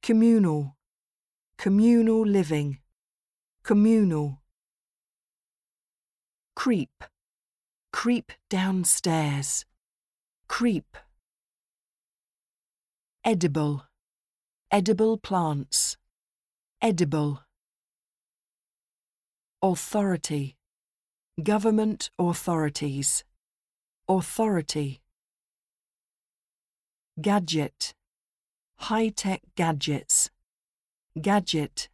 communal, communal living, communal. Creep, creep downstairs, creep. Edible, edible plants, edible. Authority, government authorities, authority. Gadget, high-tech gadgets, gadget.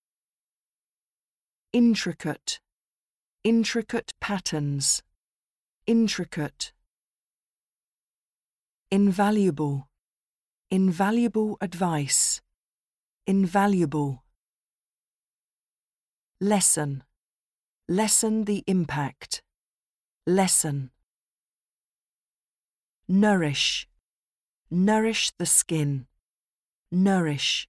Intricate, intricate patterns, intricate. Invaluable, invaluable advice, invaluable. Lessen, lessen the impact, lessen. Nourish, nourish the skin, nourish.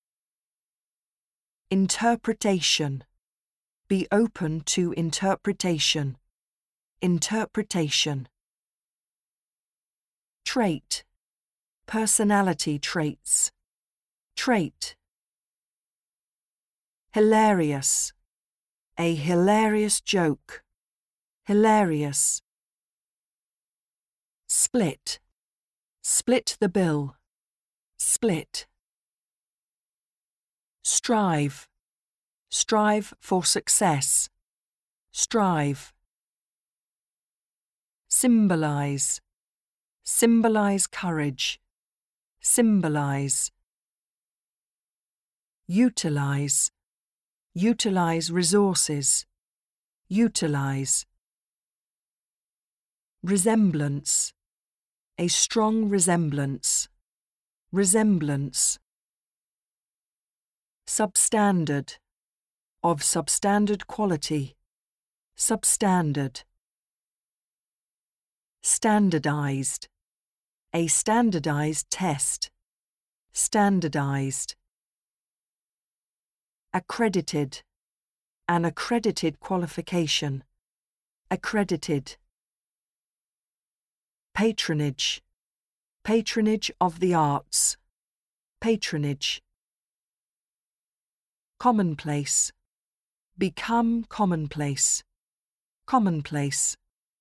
Interpretation, be open to interpretation, interpretation. Trait, personality traits, trait. Hilarious, a hilarious joke, hilarious. Split, split the bill, split. Strive, strive for success, strive. Symbolize, symbolize courage, symbolize. Utilize, utilize resources, utilize. Resemblance, a strong resemblance, resemblance. Substandard, of substandard quality, substandard. Standardized, a standardized test, standardized. Accredited, an accredited qualification, accredited. Patronage, patronage of the arts, patronage. Commonplace, become commonplace, commonplace.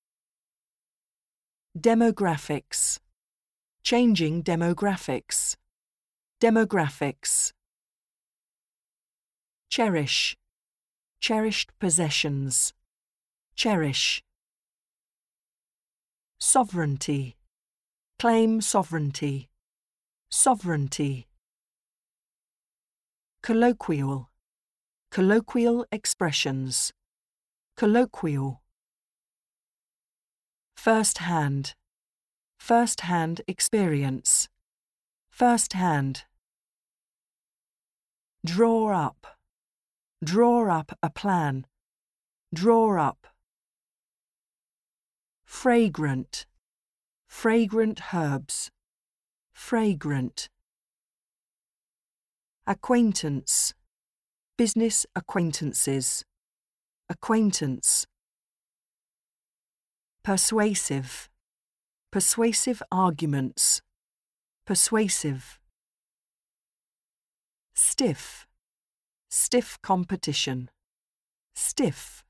Demographics, changing demographics, demographics. Cherish, cherished possessions, cherish. Sovereignty, claim sovereignty, sovereignty. Colloquial, colloquial expressions, colloquial. First-hand, first-hand experience, first-hand. Draw up a plan, draw up. Fragrant, fragrant herbs, fragrant. Acquaintance, business acquaintances, acquaintance. Persuasive, persuasive arguments, persuasive. Stiff, stiff competition, stiff.